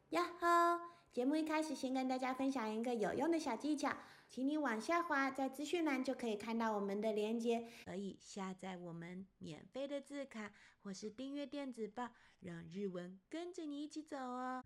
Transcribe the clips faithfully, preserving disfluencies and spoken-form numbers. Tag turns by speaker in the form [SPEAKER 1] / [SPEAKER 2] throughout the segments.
[SPEAKER 1] 呀吼！節目一開始，先跟大家分享一個有用的小技巧，請你往下滑，在資訊欄就可以看到我們的連結，可以下載我們免費的字卡，或是訂閱電子報，讓日文跟着你一起走哦。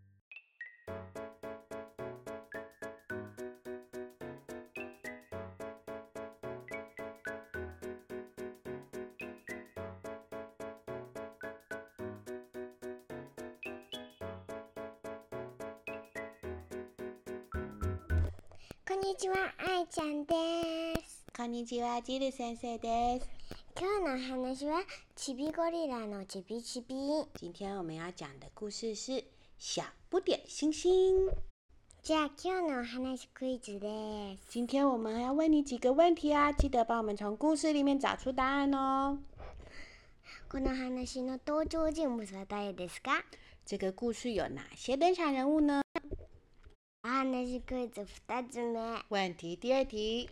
[SPEAKER 2] こんにちは、あいちゃんです。
[SPEAKER 1] こんにちは、ジル先生です。
[SPEAKER 2] 今日の話はちびゴリラのちびちび。
[SPEAKER 1] 今天我們要講的故事是小不點星星。
[SPEAKER 2] じゃあ今日のお話クイズです。
[SPEAKER 1] 今天我們要問你幾個問題啊，記得幫我們從故事裡面找出答案哦。
[SPEAKER 2] この話の登場人物は誰ですか？
[SPEAKER 1] 這個故事有哪些登場人物呢？
[SPEAKER 2] お話クイズ二つ目。
[SPEAKER 1] 問題第二題。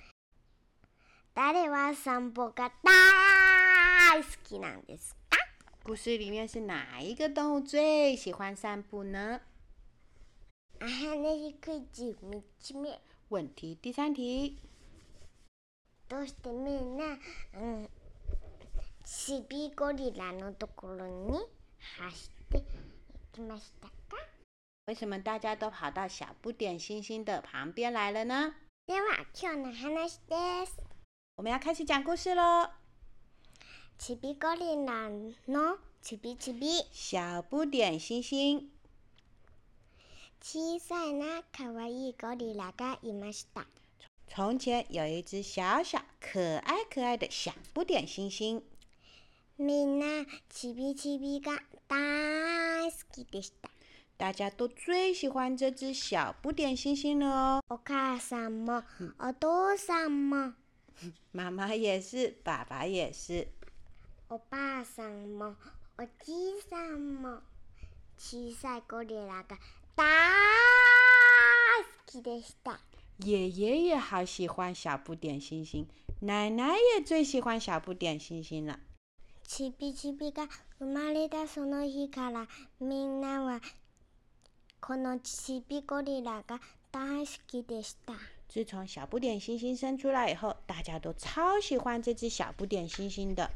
[SPEAKER 2] 誰は散歩が大好きなんですか？
[SPEAKER 1] 故事裡面是哪一個動物最喜歡散步呢？
[SPEAKER 2] お話クイズ三つ目。
[SPEAKER 1] 問題第三題。
[SPEAKER 2] どうしてみんな、うん、ちびゴリラのところに走って行きましたか？
[SPEAKER 1] 為什麼大家都跑到小不點星星的旁邊來了呢？
[SPEAKER 2] では今日の話です。
[SPEAKER 1] 我們要開始講故事咯。
[SPEAKER 2] ちびゴリラのちびちび。
[SPEAKER 1] 小不點星星。
[SPEAKER 2] 小さいな可愛いゴリラがいました。
[SPEAKER 1] 從前有一隻小小可愛可愛的小不點星星。
[SPEAKER 2] みんなちびちびが大好きでした。
[SPEAKER 1] 大家都最喜歡這隻小不點星星了哦。
[SPEAKER 2] お母さんも、お父さんも。
[SPEAKER 1] 媽媽也是，爸爸也是。
[SPEAKER 2] おばあさんも、おじいさんも。小さいゴリラが大好きでした。
[SPEAKER 1] 爺爺也好喜歡小不點星星，奶奶也最喜歡小不點星星了。
[SPEAKER 2] ちびちびが生まれたその日からみんなはこのちびゴリラが大好きでした。
[SPEAKER 1] 自從小不點星星生出來以後，大家都超喜歡這隻小不點星星的。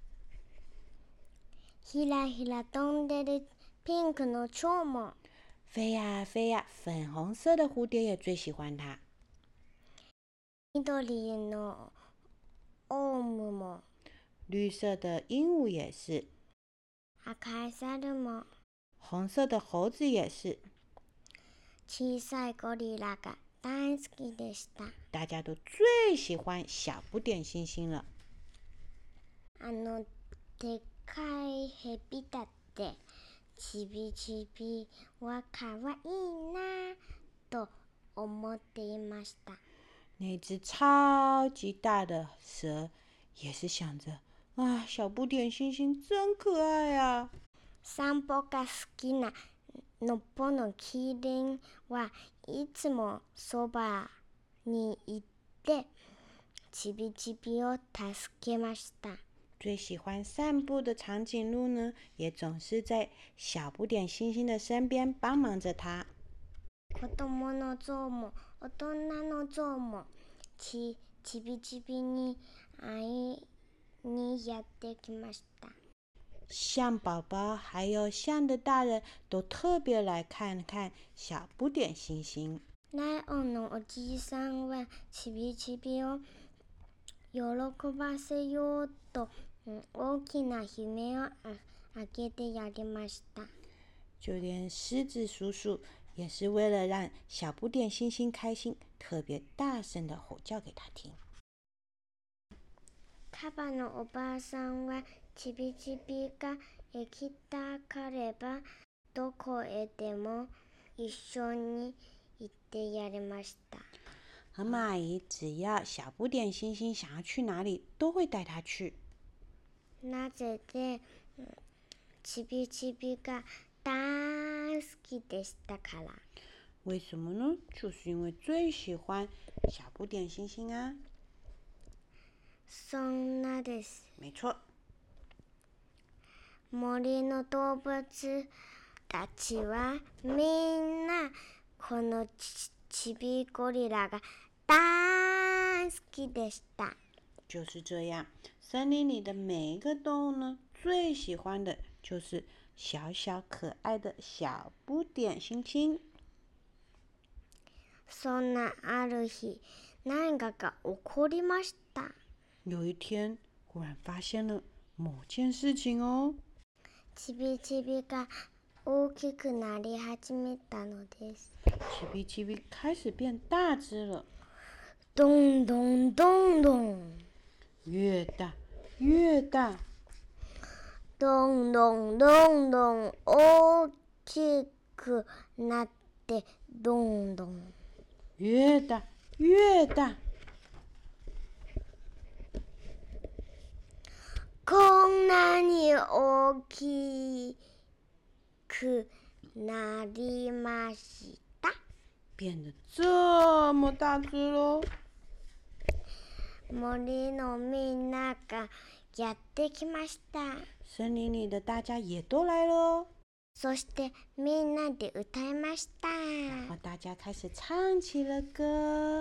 [SPEAKER 2] ひらひら飛んでるピンクの蝶も。
[SPEAKER 1] 飛呀飛呀，粉紅色的蝴蝶也最喜歡它。
[SPEAKER 2] 緑のオウムも。
[SPEAKER 1] 綠色的鸚鵡也是。
[SPEAKER 2] 赤い猿も。
[SPEAKER 1] 紅色的猴子也是。
[SPEAKER 2] 小さいゴリラが大好きでした。
[SPEAKER 1] 大家都最喜歡小不點星星了。
[SPEAKER 2] あのでっかいヘビだってちびちびはかわいいなと思っていました。
[SPEAKER 1] 那隻超級大的蛇也是想着，啊，小不點星星真可愛啊。
[SPEAKER 2] 散歩が好きなのっぽのキリンはいつもそばにいてちびちびを助けました。
[SPEAKER 1] 最喜歡散步的長頸鹿呢，也總是在小不點星星的身邊幫忙着他。
[SPEAKER 2] 子供の象も大人の象もち、ちびちびに会いにやってきました。
[SPEAKER 1] 象寶寶還有象的大人都特別來看看小不點星星。
[SPEAKER 2] ライオンのおじいさんはちびちびを喜ばせようと大きな悲鳴をあげてやりました。
[SPEAKER 1] 就連獅子叔叔也是為了讓小不點星星開心，特別大聲的吼叫給他聽。
[SPEAKER 2] カバのおばあさんはちびちびが行きたかればどこへでも一緒に行ってやりました。
[SPEAKER 1] 河馬阿姨只要小不點星星想要去哪裡，都會帶他去。
[SPEAKER 2] なぜでちびちびが大好きでしたから。
[SPEAKER 1] 為什麼呢？就是因為最喜歡小不點星星啊。
[SPEAKER 2] そんなです。
[SPEAKER 1] 沒錯。
[SPEAKER 2] 森の動物たちはみんなこのちびゴリラが大好きでした。
[SPEAKER 1] 就是這樣，森林裡的每一個動物呢，最喜歡的就是小小可愛的小不點猩猩。
[SPEAKER 2] そんなある日、何かが起こりました。
[SPEAKER 1] 有一天，忽然發現了某件事情哦。
[SPEAKER 2] ちびちびが大きくなり始めたのです。
[SPEAKER 1] ちびちび開始變大隻了。
[SPEAKER 2] どんどんどんどん。
[SPEAKER 1] 越大越大。
[SPEAKER 2] どんどんどんどん大きくなってどんどん。
[SPEAKER 1] 越大越大。
[SPEAKER 2] こんなに大きくなりました。
[SPEAKER 1] 變得這麼大隻嘍。
[SPEAKER 2] 森のみんながやってきました。
[SPEAKER 1] 森林裡的大家也都來了。
[SPEAKER 2] そしてみんなで歌いました。
[SPEAKER 1] 然後大家開始唱起了歌。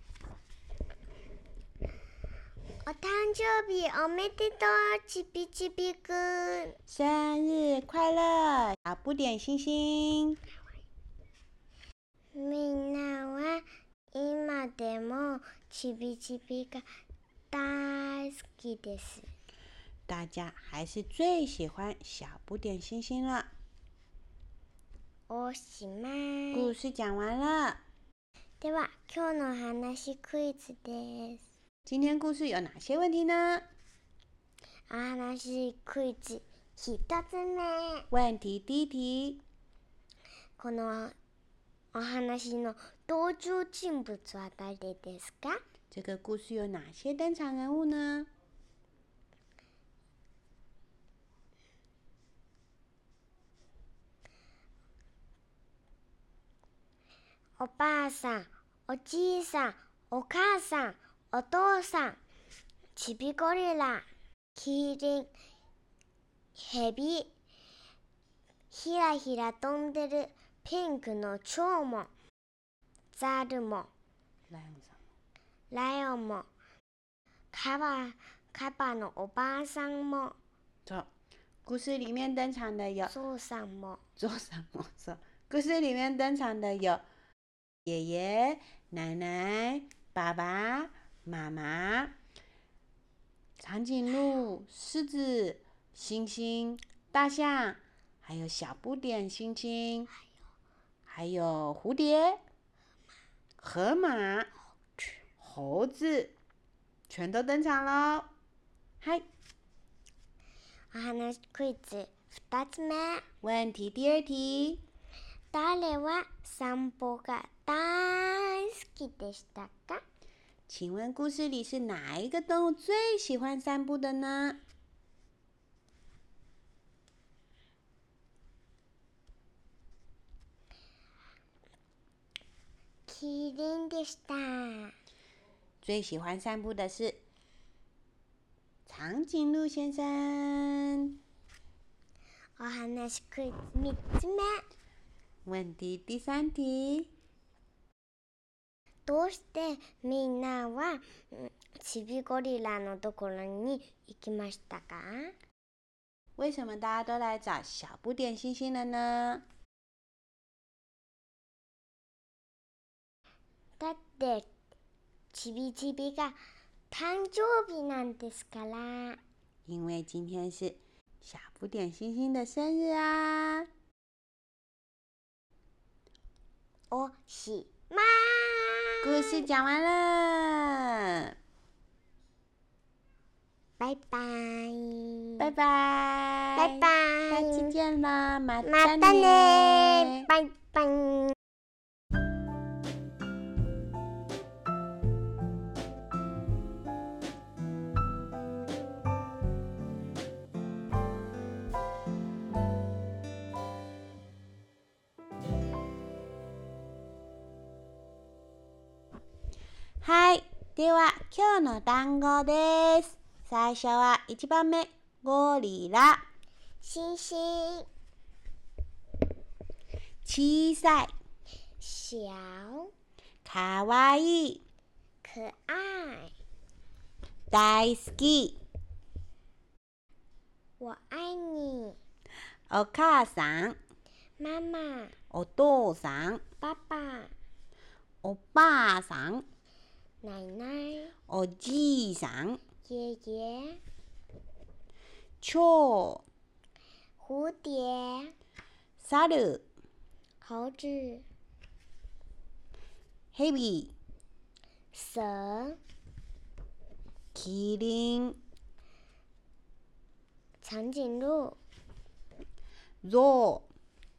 [SPEAKER 2] お誕生日おめでとう、ちびちびくん。
[SPEAKER 1] 生日快樂，小不點猩猩。
[SPEAKER 2] みんなは今でもちびちびが大好きです。
[SPEAKER 1] 大家還是最喜歡小不點猩猩了。
[SPEAKER 2] おしまい。
[SPEAKER 1] 故事講完了。
[SPEAKER 2] では今日の話クイズです。
[SPEAKER 1] 今天故事有哪些問題呢？
[SPEAKER 2] 話クイズ一つ目。
[SPEAKER 1] 問題第一題。
[SPEAKER 2] このお話の登場人物は誰ですか？
[SPEAKER 1] 這個故事有哪些登場人物呢？
[SPEAKER 2] おばあさん、おじいさん、お母さん、お父さん、ちびゴリラ、キリン、ヘビ、ひらひら飛んでるピンクの蝶も、ザルも、
[SPEAKER 1] ライオンさん、
[SPEAKER 2] ライオンも、カバ、カバのおばあさんも、
[SPEAKER 1] そう、故事裡面登場的有
[SPEAKER 2] ゾウさんも、
[SPEAKER 1] ゾウさんもそう。故事裡面登場的有爺爺、奶奶、爸爸、媽媽、長頸鹿、獅子、猩猩、大象，還有小不點猩猩，還有蝴蝶、河馬、猴子，全都登場了。はい。
[SPEAKER 2] お話クイズ二つ目。
[SPEAKER 1] 問題第二題。
[SPEAKER 2] 誰は散歩が大好きでしたか？
[SPEAKER 1] 請問故事裡是哪一個動物最喜歡散步的呢？
[SPEAKER 2] キリンでした。
[SPEAKER 1] 最喜歡散步的是長頸鹿先生。
[SPEAKER 2] お話クイズ三つ目。
[SPEAKER 1] 問題第三題。
[SPEAKER 2] どうしてみんなはちびゴリラのところに行きましたか？
[SPEAKER 1] 為什麼大家都來找小不點猩猩了呢？
[SPEAKER 2] だってちびちびが誕生日なんですから。
[SPEAKER 1] 因為今天是小不點猩猩的生日啊。
[SPEAKER 2] おしまい。
[SPEAKER 1] 故事講完了。
[SPEAKER 2] 拜拜。
[SPEAKER 1] 拜拜。
[SPEAKER 2] 拜拜。
[SPEAKER 1] 下期見啦，またね。
[SPEAKER 2] またね。拜拜。
[SPEAKER 1] はい。では、今日の単語です。最初はいちばんめ、ゴリラ。
[SPEAKER 2] シンシン。
[SPEAKER 1] 小さい、
[SPEAKER 2] 小、
[SPEAKER 1] かわいい、
[SPEAKER 2] 可愛、
[SPEAKER 1] 大好き、
[SPEAKER 2] 我愛你、
[SPEAKER 1] お母さん、
[SPEAKER 2] 媽媽、
[SPEAKER 1] お父さん、
[SPEAKER 2] 爸爸、
[SPEAKER 1] おばあさん、
[SPEAKER 2] 奶奶、
[SPEAKER 1] おじいさん、
[SPEAKER 2] 爺爺、
[SPEAKER 1] 蝶、
[SPEAKER 2] 蝴蝶、
[SPEAKER 1] 猿、
[SPEAKER 2] 猴子、
[SPEAKER 1] 蛇、
[SPEAKER 2] 蛇、
[SPEAKER 1] キリン、
[SPEAKER 2] 長頸鹿、
[SPEAKER 1] ゾウ、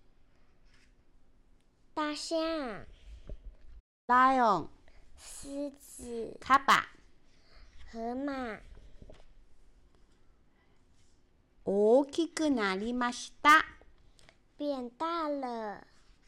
[SPEAKER 2] 大象、
[SPEAKER 1] ライオン、
[SPEAKER 2] 獅子、
[SPEAKER 1] カバ、
[SPEAKER 2] 河馬。
[SPEAKER 1] 大きくなりました。
[SPEAKER 2] 變大了。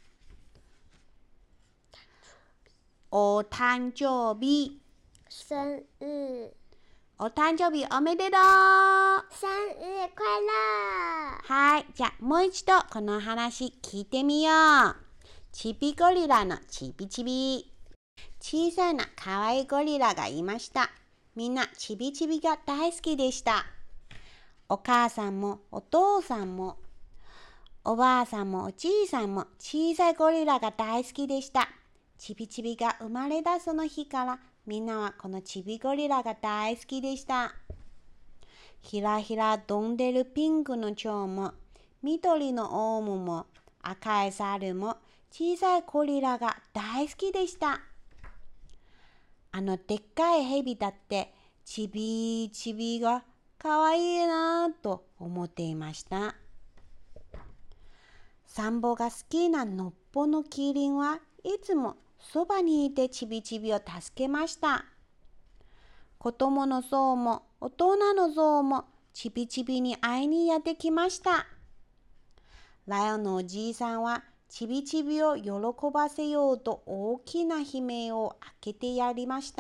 [SPEAKER 1] お誕生日。
[SPEAKER 2] 生日。
[SPEAKER 1] お誕生日おめでとう。
[SPEAKER 2] 生日快樂。
[SPEAKER 1] はい、じゃあもう一度この話聞いてみよう。ちびゴリラのちびちび。小さなかわいいゴリラがいました。みんなちびちびが大好きでした。お母さんもお父さんもおばあさんもおじいさんも小さいゴリラが大好きでした。ちびちびが生まれたその日からみんなはこのちびゴリラが大好きでした。ひらひら飛んでるピンクの蝶も緑のオウムも赤い猿も小さいゴリラが大好きでした。あのでっかいヘビだってちびちびがかわいいなぁと思っていました。散歩が好きなのっぽのキリンはいつもそばにいてちびちびを助けました。子供のゾウも大人のゾウもちびちびに会いにやってきました。ライオンのおじいさんはちびちびを喜ばせようと大きな悲鳴を開けてやりました。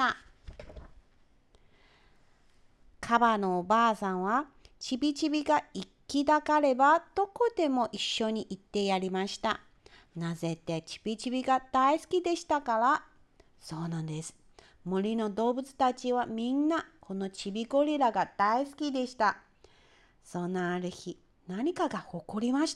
[SPEAKER 1] カバのおばあさんはちびちびが行きたがればどこでも一緒に行ってやりました。なぜってちびちびが大好きでしたから。そうなんです。森の動物たちはみんなこのちびゴリラが大好きでした。そんなある日、何かが起こりました。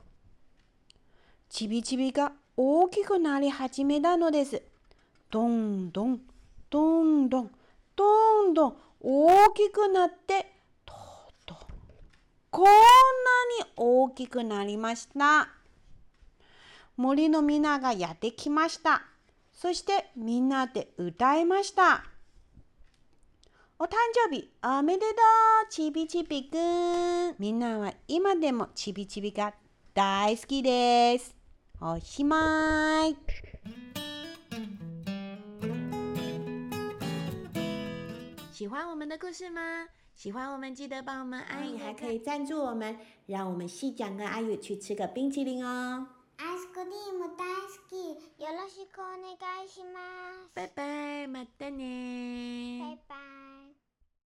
[SPEAKER 1] ちびちびが大きくなり始めたのです。どんどん、どんどん、どんどん大きくなって、とうとう、こんなに大きくなりました。森のみんながやってきました。そしてみんなで歌いました。お誕生日おめでとう、ちびちびくん。みんなは今でもちびちびが大好きです。おしまい。喜歡我們的故事嗎？喜歡我們記得幫我們按一個，還可以贊助我們，讓我們細講跟阿宇去吃個冰淇淋哦。
[SPEAKER 2] アイスクリーム大好き。よろしくお願いします。
[SPEAKER 1] 拜拜，またね。
[SPEAKER 2] バイバイ。